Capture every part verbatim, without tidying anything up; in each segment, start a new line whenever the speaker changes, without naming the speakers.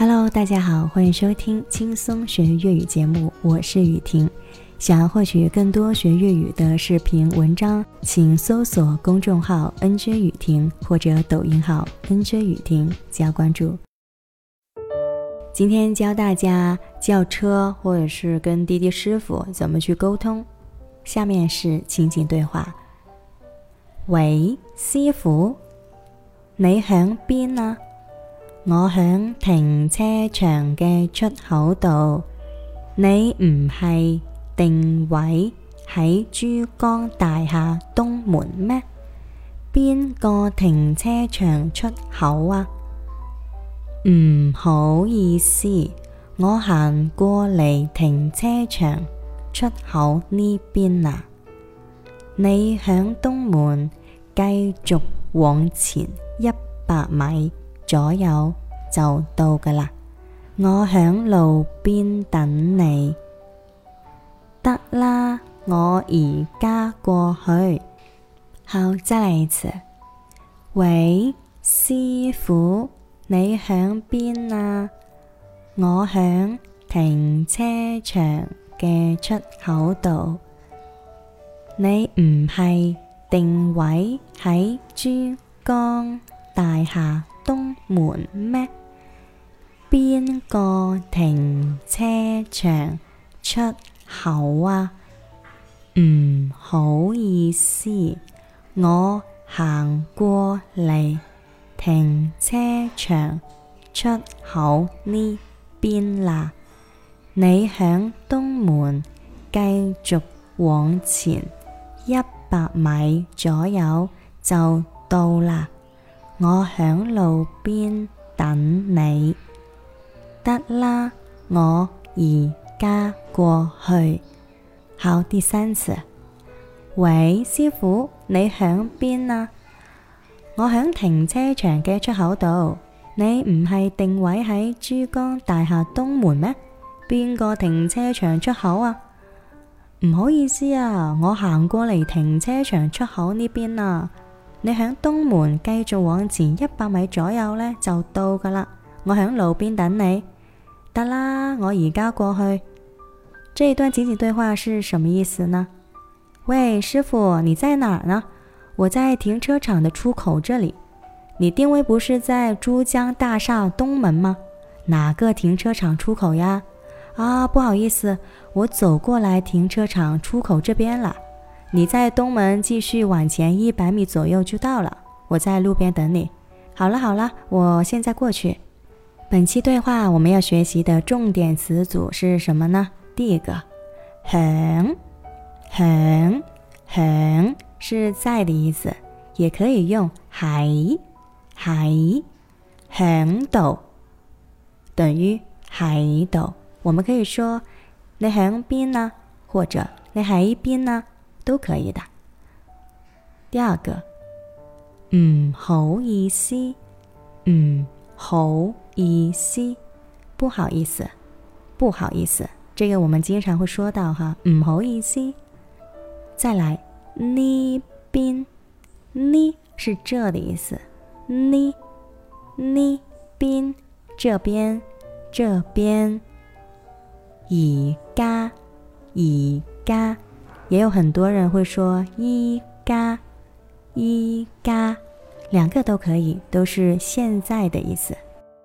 Hello， 大家好，欢迎收听轻松学粤语节目，我是雨婷。想要获取更多学粤语的视频文章，请搜索公众号 N J 雨婷或者抖音号 N J 雨婷加关注。今天教大家叫车或者是跟滴滴师傅怎么去沟通。下面是情景对话。喂，師傅，你響邊啊？我響停車場嘅出口度，你唔係定位喺珠江大廈東門咩？邊個停車場出口啊？唔好意思，我行過嚟停車場出口呢邊啊。你響東門繼續往前一百米左右就到㗎喇，我響路邊等你。得啦，我而家過去。好，再來一次。喂，師傅，你響邊啊？我響停車場嘅出口度，你唔係定位喺珠江大廈東門咩？邊個停車場出口啊？唔好意思，我行過嚟停車場出口呢邊啦。你響東門繼續往前一百米左右就到啦，我響路邊等你。得啦，我而家過去。好，第三次。喂，師傅，你響邊啊？我響停車場嘅出口度，你唔係定位喺珠江大廈東門咩？邊個停車場出口啊？唔好意思啊，我行過嚟停車場出口呢邊啊。你響東門繼續往前一百米左右呢，就到㗎喇，我響路邊等你。得啦，我而家過去。這一段情景對話是什麼意思呢？喂，師傅，你在哪兒呢？我在停車場的出口這裡。你定位不是在珠江大廈東門嗎？哪個停車場出口呀？啊，不好意思，我走過來停車場出口這邊了。你在東門繼續往前一百米左右就到了，我在路邊等你。好了好了，我現在過去。本期對話我們要學習的重點詞組是什麼呢？第一個，響，響，響是在的意思，也可以用喺，喺，響度等於喺度。我們可以說你響邊啊，或者你喺邊啊，都可以的。第二個，唔好意思，唔好意思，不好意思，不好意思，這個我們經常會說到哈，唔好意思。再來，呢邊，呢是這的意思，呢，呢邊，這邊，這邊。而家，而家，也有很多人會說依家，依家，兩個都可以，都是現在的意思。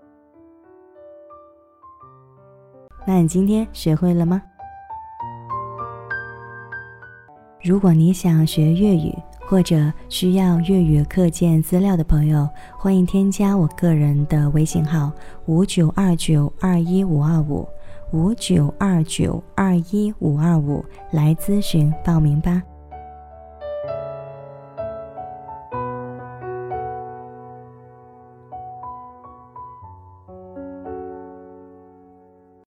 那你今天學會了嗎？如果你想學粵語，或者需要粵語課件資料的朋友，歡迎添加我個人的微信號五九二九二一五二五。五九二九二一五二五來諮詢報名吧。